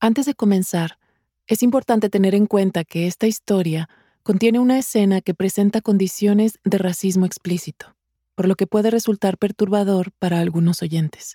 Antes de comenzar, es importante tener en cuenta que esta historia contiene una escena que presenta condiciones de racismo explícito, por lo que puede resultar perturbador para algunos oyentes.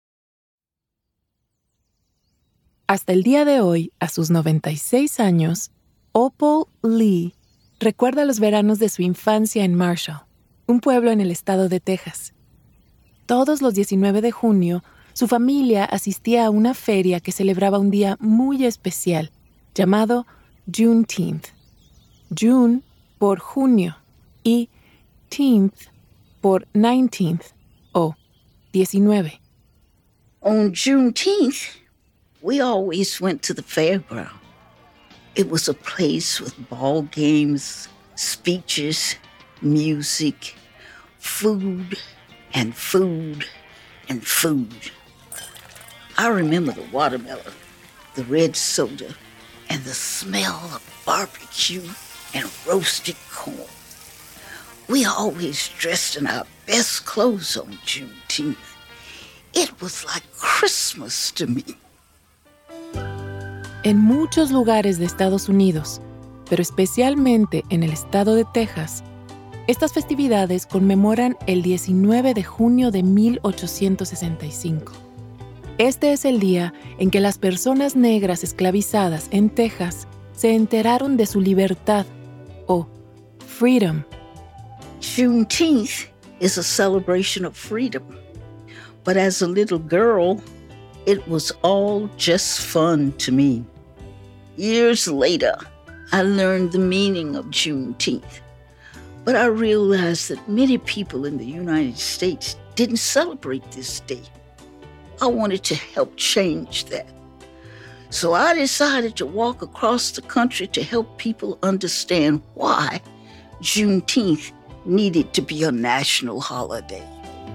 Hasta el día de hoy, a sus 96 años, Opal Lee recuerda los veranos de su infancia en Marshall, un pueblo en el estado de Texas. Todos los 19 de junio, su familia asistía a una feria que celebraba un día muy especial, llamado Juneteenth. June por junio y teenth por 19th o 19. On Juneteenth, we always went to the fairground. It was a place with ball games, speeches, music, food, and food, and food. I remember the watermelon, the red soda, and the smell of barbecue and roasted corn. We always dressed in our best clothes on Juneteenth. It was like Christmas to me. En muchos lugares de Estados Unidos, pero especialmente en el estado de Texas, estas festividades conmemoran el 19 de junio de 1865. Este es el día en que las personas negras esclavizadas en Texas se enteraron de su libertad, o freedom. Juneteenth is a celebration of freedom. But as a little girl, it was all just fun to me. Years later, I learned the meaning of Juneteenth. But I realized that many people in the United States didn't celebrate this day. I wanted to help change that. So I decided to walk across the country to help people understand why Juneteenth needed to be a national holiday.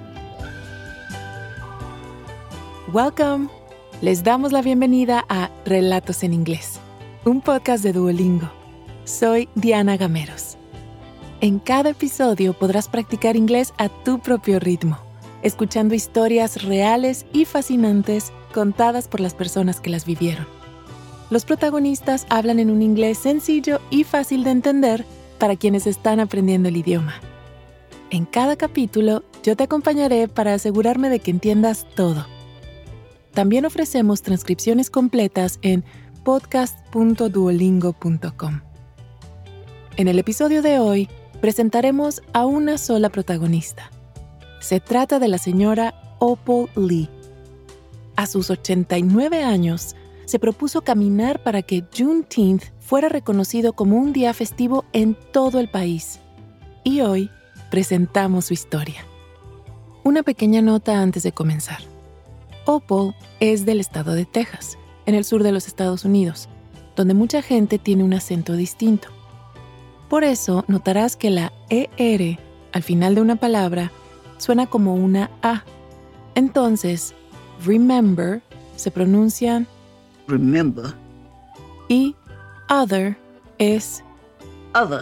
Welcome. Les damos la bienvenida a Relatos en Inglés, un podcast de Duolingo. Soy Diana Gameros. En cada episodio podrás practicar inglés a tu propio ritmo, escuchando historias reales y fascinantes contadas por las personas que las vivieron. Los protagonistas hablan en un inglés sencillo y fácil de entender para quienes están aprendiendo el idioma. En cada capítulo, yo te acompañaré para asegurarme de que entiendas todo. También ofrecemos transcripciones completas en podcast.duolingo.com. En el episodio de hoy, presentaremos a una sola protagonista. Se trata de la señora Opal Lee. A sus 89 años, se propuso caminar para que Juneteenth fuera reconocido como un día festivo en todo el país. Y hoy presentamos su historia. Una pequeña nota antes de comenzar. Opal es del estado de Texas, en el sur de los Estados Unidos, donde mucha gente tiene un acento distinto. Por eso notarás que la ER al final de una palabra suena como una A. Entonces, remember se pronuncia remember y other es other.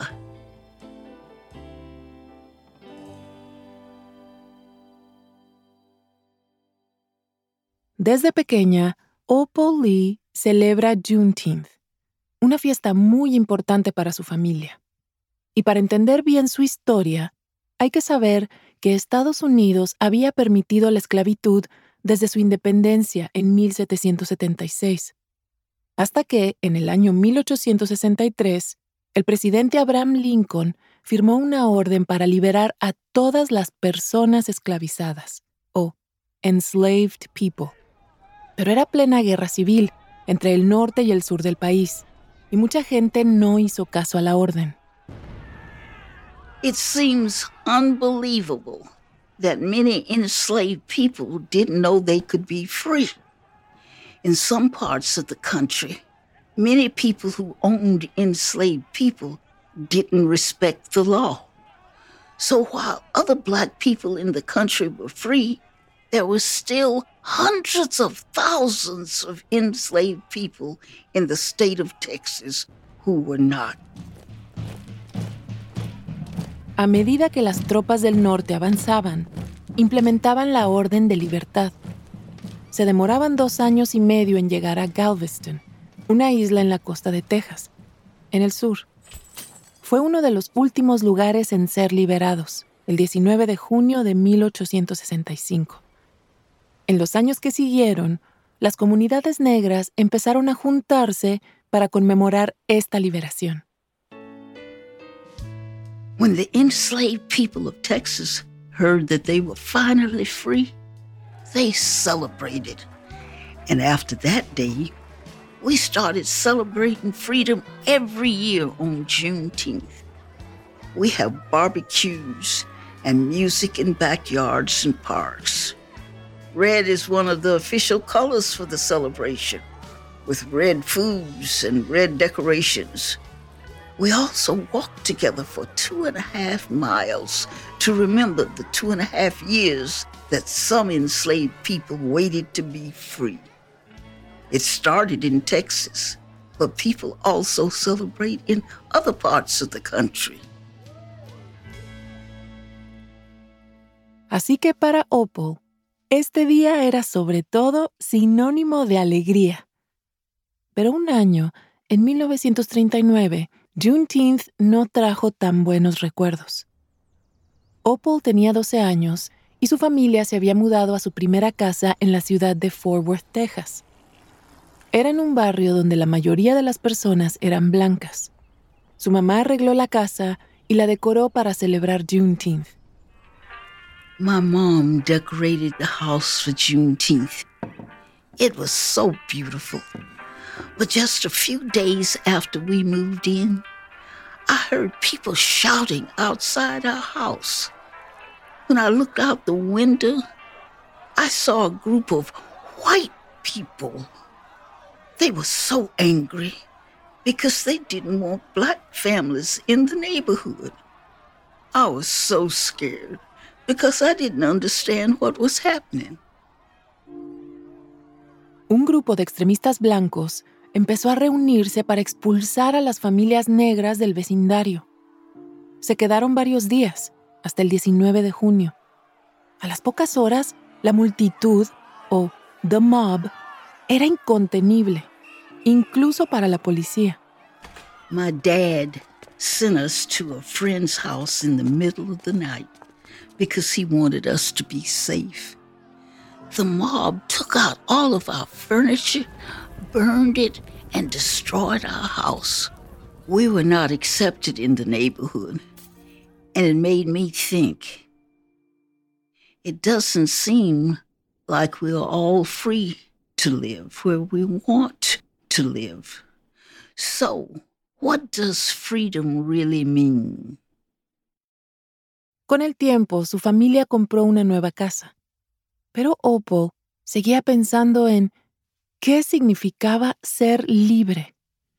Desde pequeña, Opal Lee celebra Juneteenth, una fiesta muy importante para su familia. Y para entender bien su historia, hay que saber que Estados Unidos había permitido la esclavitud desde su independencia en 1776, hasta que, en el año 1863, el presidente Abraham Lincoln firmó una orden para liberar a todas las personas esclavizadas, o enslaved people. Pero era plena guerra civil entre el norte y el sur del país, y mucha gente no hizo caso a la orden. It seems unbelievable that many enslaved people didn't know they could be free. In some parts of the country, many people who owned enslaved people didn't respect the law. So while other Black people in the country were free, there were still hundreds of thousands of enslaved people in the state of Texas who were not. A medida que las tropas del norte avanzaban, implementaban la orden de libertad. se demoraban 2 años y medio en llegar a Galveston, una isla en la costa de Texas, en el sur. Fue uno de los últimos lugares en ser liberados, el 19 de junio de 1865. En los años que siguieron, las comunidades negras empezaron a juntarse para conmemorar esta liberación. When the enslaved people of Texas heard that they were finally free, they celebrated. And after that day, we started celebrating freedom every year on Juneteenth. We have barbecues and music in backyards and parks. Red is one of the official colors for the celebration, with red foods and red decorations. We also walked together for 2.5 miles to remember the 2.5 years that some enslaved people waited to be free. It started in Texas, but people also celebrate in other parts of the country. Así que para Opal, este día era sobre todo sinónimo de alegría. Pero un año, en 1939, Juneteenth no trajo tan buenos recuerdos. Opal tenía 12 años y su familia se había mudado a su primera casa en la ciudad de Fort Worth, Texas. Era en un barrio donde la mayoría de las personas eran blancas. Su mamá arregló la casa y la decoró para celebrar Juneteenth. My mom decorated the house for Juneteenth. It was so beautiful. But just a few days after we moved in, I heard people shouting outside our house. When I looked out the window, I saw a group of white people. They were so angry because they didn't want black families in the neighborhood. I was so scared because I didn't understand what was happening. Un grupo de extremistas blancos empezó a reunirse para expulsar a las familias negras del vecindario. Se quedaron varios días, hasta el 19 de junio. A las pocas horas, la multitud, o the mob, era incontenible, incluso para la policía. My dad sent us to a friend's house in the middle of the night because he wanted us to be safe. The mob took out all of our furniture, burned it, and destroyed our house. We were not accepted in the neighborhood, and it made me think. It doesn't seem like we're all free to live where we want to live. So, what does freedom really mean? Con el tiempo, su familia compró una nueva casa. Pero Opal seguía pensando en qué significaba ser libre.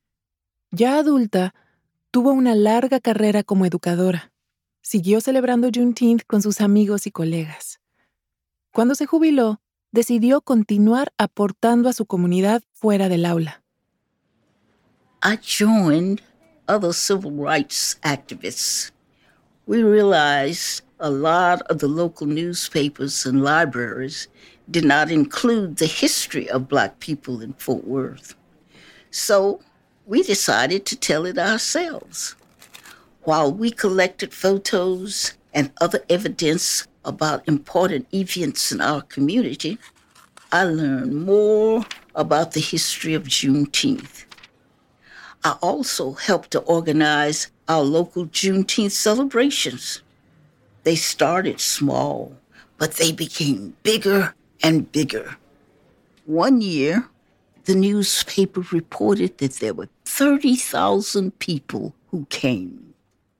Ya adulta, tuvo una larga carrera como educadora. Siguió celebrando Juneteenth con sus amigos y colegas. Cuando se jubiló, decidió continuar aportando a su comunidad fuera del aula. I joined other civil rights activists. We realized a lot of the local newspapers and libraries did not include the history of Black people in Fort Worth. So we decided to tell it ourselves. While we collected photos and other evidence about important events in our community, I learned more about the history of Juneteenth. I also helped to organize our local Juneteenth celebrations. They started small, but they became bigger and bigger. One year, the newspaper reported that there were 30,000 people who came.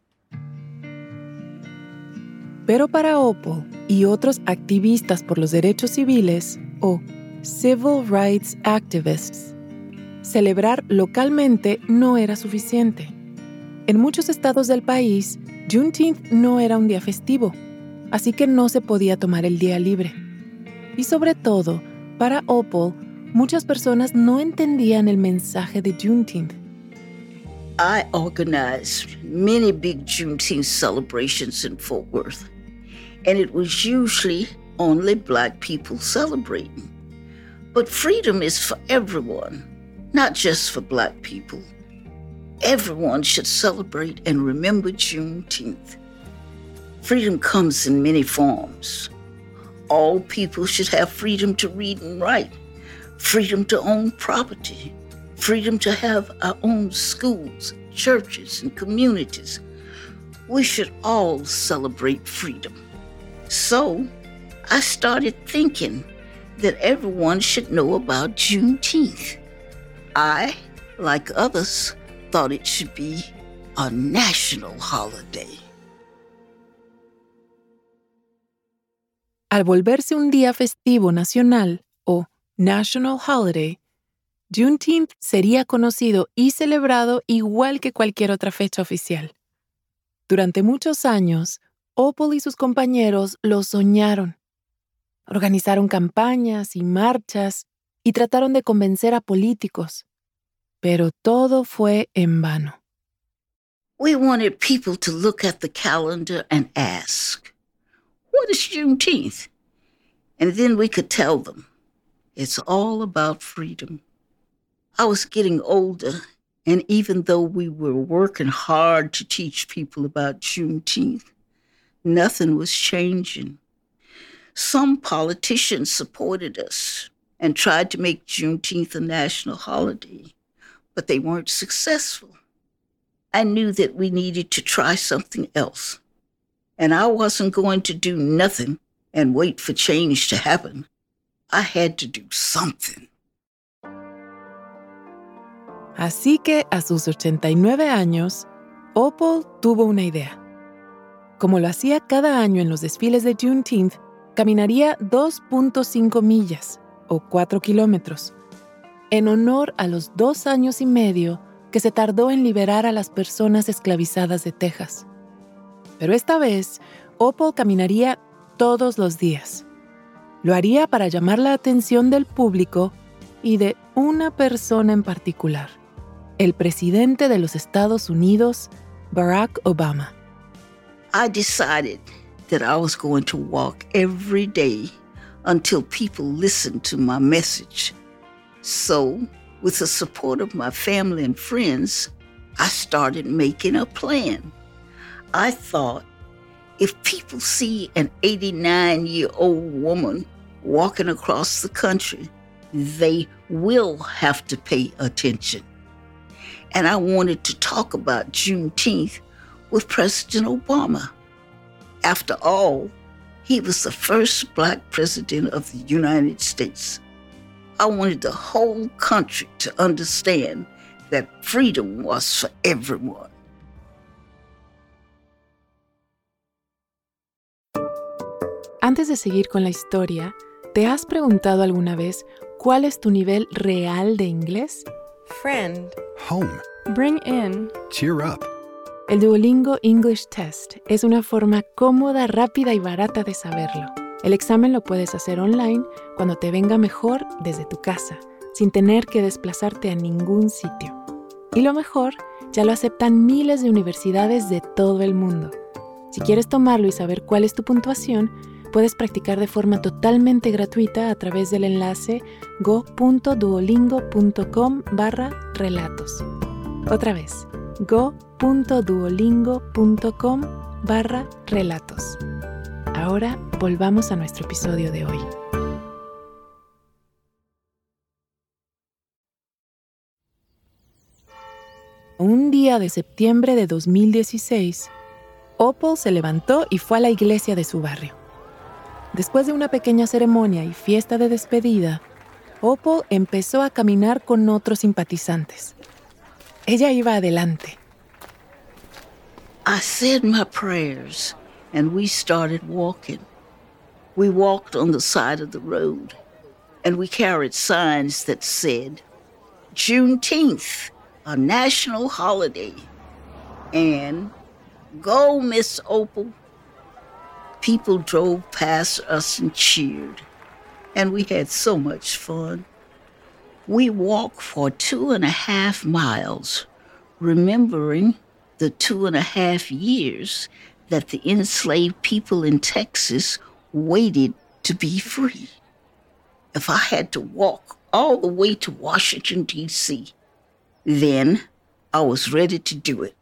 Pero para Opal y otros activistas por los derechos civiles, o Civil Rights Activists, celebrar localmente no era suficiente. En muchos estados del país, Juneteenth no era un día festivo, así que no se podía tomar el día libre. Y sobre todo, para Opal, muchas personas no entendían el mensaje de Juneteenth. I organized many big Juneteenth celebrations in Fort Worth, and it was usually only Black people celebrating. But freedom is for everyone, not just for Black people. Everyone should celebrate and remember Juneteenth. Freedom comes in many forms. All people should have freedom to read and write, freedom to own property, freedom to have our own schools, churches, and communities. We should all celebrate freedom. So I started thinking that everyone should know about Juneteenth. I, like others, thought it should be a national holiday. Al volverse un día festivo nacional, o National Holiday, Juneteenth sería conocido y celebrado igual que cualquier otra fecha oficial. Durante muchos años, Opal y sus compañeros lo soñaron. Organizaron campañas y marchas y trataron de convencer a políticos, pero todo fue en vano. We wanted people to look at the calendar and ask, "What is Juneteenth?" And then we could tell them, it's all about freedom. I was getting older, and even though we were working hard to teach people about Juneteenth, nothing was changing. Some politicians supported us and tried to make Juneteenth a national holiday, but they weren't successful. I knew that we needed to try something else, and I wasn't going to do nothing and wait for change to happen. I had to do something. Así que a sus 89 años, Opal tuvo una idea. Como lo hacía cada año en los desfiles de Juneteenth, caminaría 2.5 millas, o 4 kilómetros, en honor a los 2 años y medio que se tardó en liberar a las personas esclavizadas de Texas. Pero esta vez, Opal caminaría todos los días. Lo haría para llamar la atención del público y de una persona en particular, el presidente de los Estados Unidos, Barack Obama. I decided that I was going to walk every day until people listened to my message. So, with the support of my family and friends, I started making a plan. I thought, if people see an 89-year-old woman walking across the country, they will have to pay attention. And I wanted to talk about Juneteenth with President Obama. After all, he was the first Black president of the United States. I wanted the whole country to understand that freedom was for everyone. Antes de seguir con la historia, ¿te has preguntado alguna vez cuál es tu nivel real de inglés? Friend. Home. Bring in. Cheer up. El Duolingo English Test es una forma cómoda, rápida y barata de saberlo. El examen lo puedes hacer online cuando te venga mejor desde tu casa, sin tener que desplazarte a ningún sitio. Y lo mejor, ya lo aceptan miles de universidades de todo el mundo. Si quieres tomarlo y saber cuál es tu puntuación, puedes practicar de forma totalmente gratuita a través del enlace go.duolingo.com/relatos. Otra vez, go.duolingo.com/relatos. Ahora volvamos a nuestro episodio de hoy. Un día de septiembre de 2016, Opal se levantó y fue a la iglesia de su barrio. Después de una pequeña ceremonia y fiesta de despedida, Opal empezó a caminar con otros simpatizantes. Ella iba adelante. I said my prayers, and we started walking. We walked on the side of the road, and we carried signs that said, Juneteenth, a national holiday, and go, Miss Opal. People drove past us and cheered, and we had so much fun. We walked for 2.5 miles, remembering the 2.5 years that the enslaved people in Texas waited to be free. if I had to walk all the way to Washington, D.C., then I was ready to do it.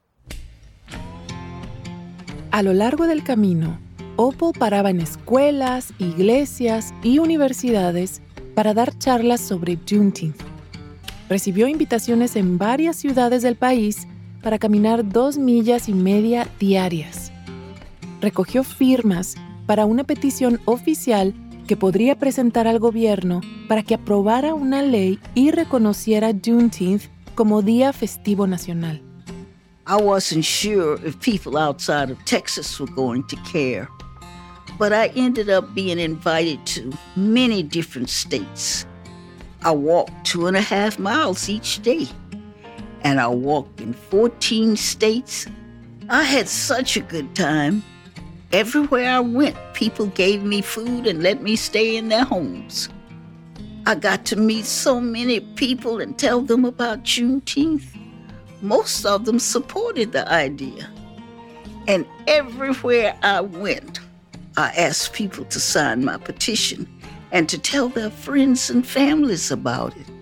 A lo largo del camino, Opal paraba en escuelas, iglesias y universidades para dar charlas sobre Juneteenth. Recibió invitaciones en varias ciudades del país para caminar 2,5 millas diarias. Recogió firmas para una petición oficial que podría presentar al gobierno para que aprobara una ley y reconociera Juneteenth como día festivo nacional. I wasn't sure if people outside of Texas were going to care, but I ended up being invited to many different states. I walked 2.5 miles each day, and I walked in 14 states. I had such a good time. Everywhere I went, people gave me food and let me stay in their homes. I got to meet so many people and tell them about Juneteenth. Most of them supported the idea. And everywhere I went, I asked people to sign my petition and to tell their friends and families about it.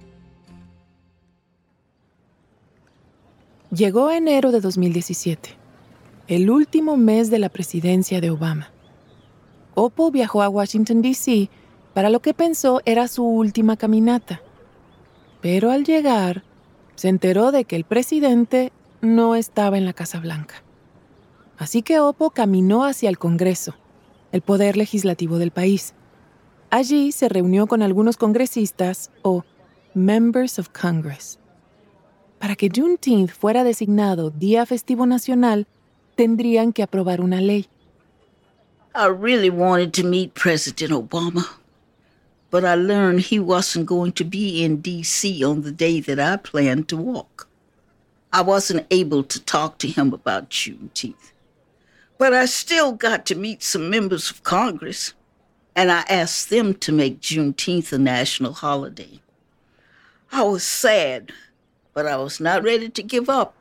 Llegó enero de 2017, el último mes de la presidencia de Obama. Opal viajó a Washington, D.C. para lo que pensó era su última caminata. Pero al llegar, se enteró de que el presidente no estaba en la Casa Blanca. Así que Opal caminó hacia el Congreso, el poder legislativo del país. Allí se reunió con algunos congresistas o Members of Congress. Para que Juneteenth fuera designado Día Festivo Nacional, tendrían que aprobar una ley. I really wanted to meet President Obama, but I learned he wasn't going to be in D.C. on the day that I planned to walk. I wasn't able to talk to him about Juneteenth, but I still got to meet some members of Congress, and I asked them to make Juneteenth a national holiday. I was sad, but I was not ready to give up.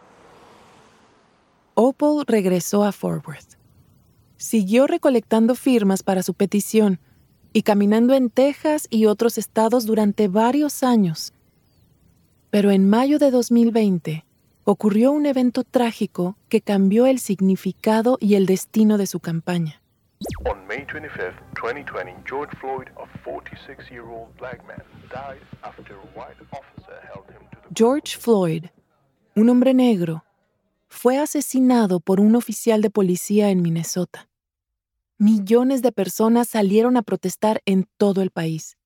Opal regresó a Fort Worth. Siguió recolectando firmas para su petición y caminando en Texas y otros estados durante varios años. Pero en mayo de 2020 ocurrió un evento trágico que cambió el significado y el destino de su campaña. On May 25, 2020, George Floyd, a 46-year-old black man, died after a white officer held him to the... George Floyd, un hombre negro, fue asesinado por un oficial de policía en Minnesota. Millones de personas salieron a protestar en todo el país.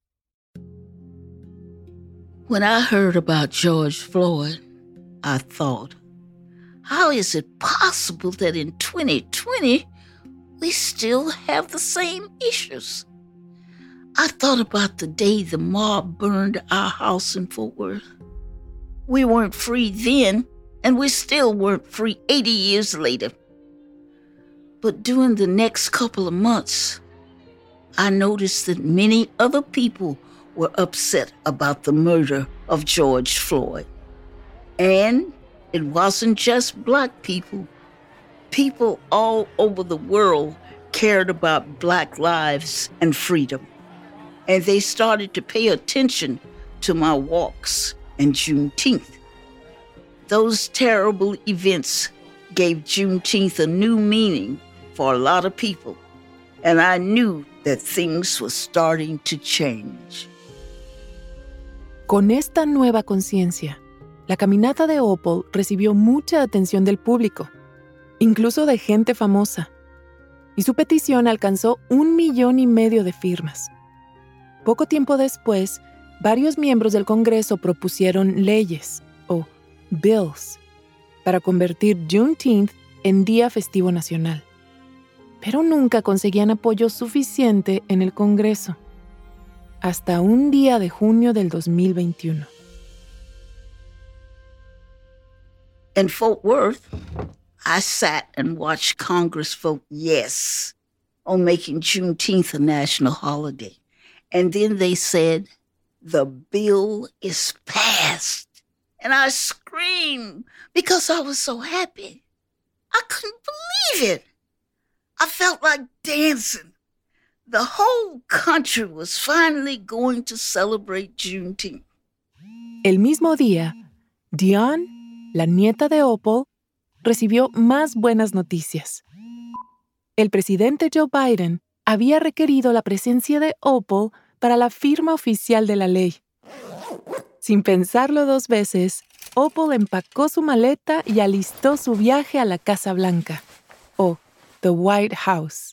When I heard about George Floyd, I thought, how is it possible that in 2020 we still have the same issues? I thought about the day the mob burned our house in Fort Worth. We weren't free then, and we still weren't free 80 years later. But during the next couple of months, I noticed that many other people were upset about the murder of George Floyd. And it wasn't just black people. People all over the world cared about black lives and freedom. And they started to pay attention to my walks and Juneteenth. Those terrible events gave Juneteenth a new meaning for a lot of people, and I knew that things were starting to change. Con esta nueva conciencia, la caminata de Opal recibió mucha atención del público, incluso de gente famosa, y su petición alcanzó 1,5 millones de firmas. Poco tiempo después, varios miembros del Congreso propusieron leyes, o bills, para convertir Juneteenth en Día Festivo Nacional. Pero nunca conseguían apoyo suficiente en el Congreso, hasta un día de junio del 2021. In Fort Worth, I sat and watched Congress vote yes on making Juneteenth a national holiday. And then they said, the bill is passed. And I screamed because I was so happy. I couldn't believe it. I felt like dancing. The whole country was finally going to celebrate Juneteenth. El mismo día, Dionne, la nieta de Opal, recibió más buenas noticias. El presidente Joe Biden había requerido la presencia de Opal para la firma oficial de la ley. Sin pensarlo dos veces, Opal empacó su maleta y alistó su viaje a la Casa Blanca, o the White House.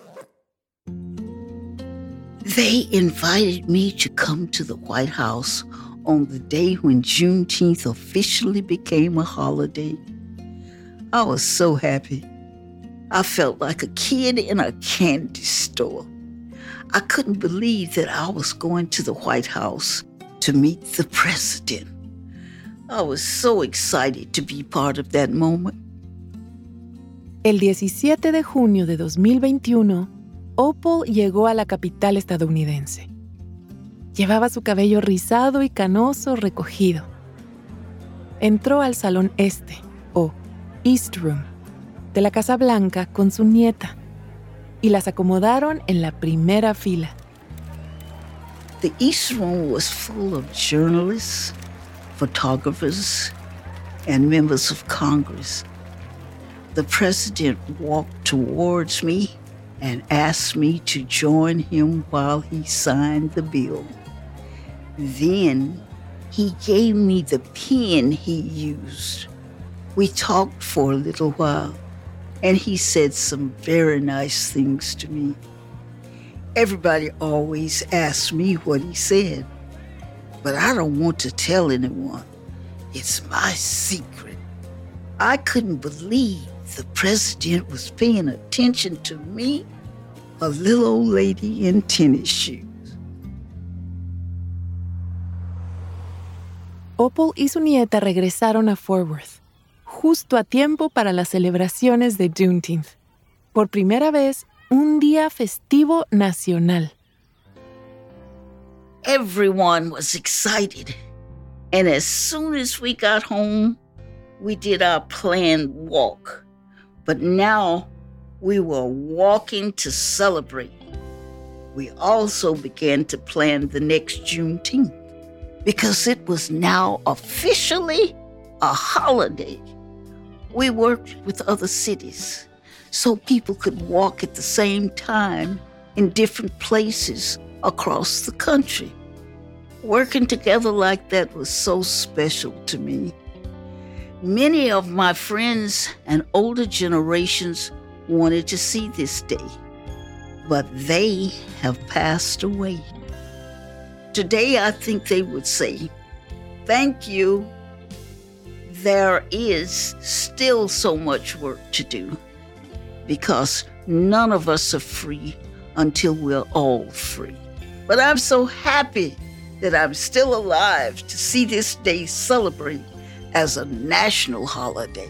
They invited me to come to the White House on the day when Juneteenth officially became a holiday. I was so happy. I felt like a kid in a candy store. I couldn't believe that I was going to the White House to meet the president. I was so excited to be part of that moment. El 17 de junio de 2021, Opal llegó a la capital estadounidense. Llevaba su cabello rizado y canoso recogido. Entró al Salón Este, o East Room, de la Casa Blanca con su nieta, y las acomodaron en la primera fila. The East Room was full of journalists, photographers, and members of Congress. The president walked towards me and asked me to join him while he signed the bill. Then he gave me the pen he used. We talked for a little while, and he said some very nice things to me. Everybody always asks me what he said, but I don't want to tell anyone. It's my secret. I couldn't believe the president was paying attention to me, a little old lady in tennis shoes. Opal y su nieta regresaron a Fort Worth, justo a tiempo para las celebraciones de Juneteenth. Por primera vez, un día festivo nacional. Everyone was excited, and as soon as we got home, we did our planned walk. But now we were walking to celebrate. We also began to plan the next Juneteenth because it was now officially a holiday. We worked with other cities so people could walk at the same time in different places across the country. Working together like that was so special to me. Many of my friends and older generations wanted to see this day, but they have passed away. Today, I think they would say, "Thank you. There is still so much work to do because none of us are free until we're all free. But I'm so happy that I'm still alive to see this day celebrated as a national holiday."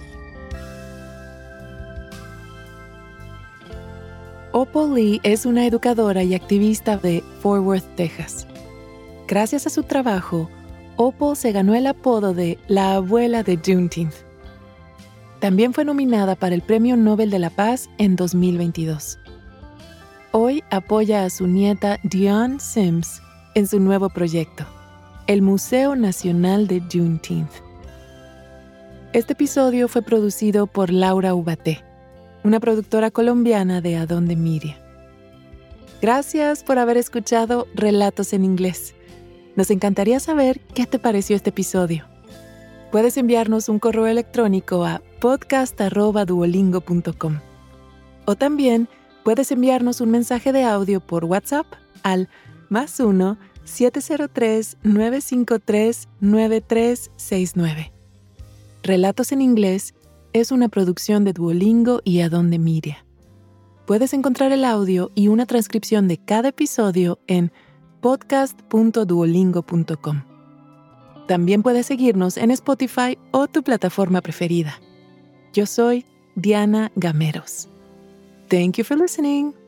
Opal Lee es una educadora y activista de Fort Worth, Texas. Gracias a su trabajo, Opal se ganó el apodo de la abuela de Juneteenth. También fue nominada para el Premio Nobel de la Paz en 2022. Hoy apoya a su nieta Dionne Sims en su nuevo proyecto, el Museo Nacional de Juneteenth. Este episodio fue producido por Laura Ubaté, una productora colombiana de Adonde Media. Gracias por haber escuchado Relatos en Inglés. Nos encantaría saber qué te pareció este episodio. Puedes enviarnos un correo electrónico a podcast@duolingo.com. O también puedes enviarnos un mensaje de audio por WhatsApp al +1 703 953 9369. Relatos en Inglés es una producción de Duolingo y Adonde Media. Puedes encontrar el audio y una transcripción de cada episodio en podcast.duolingo.com. También puedes seguirnos en Spotify o tu plataforma preferida. Yo soy Diana Gameros. Thank you for listening.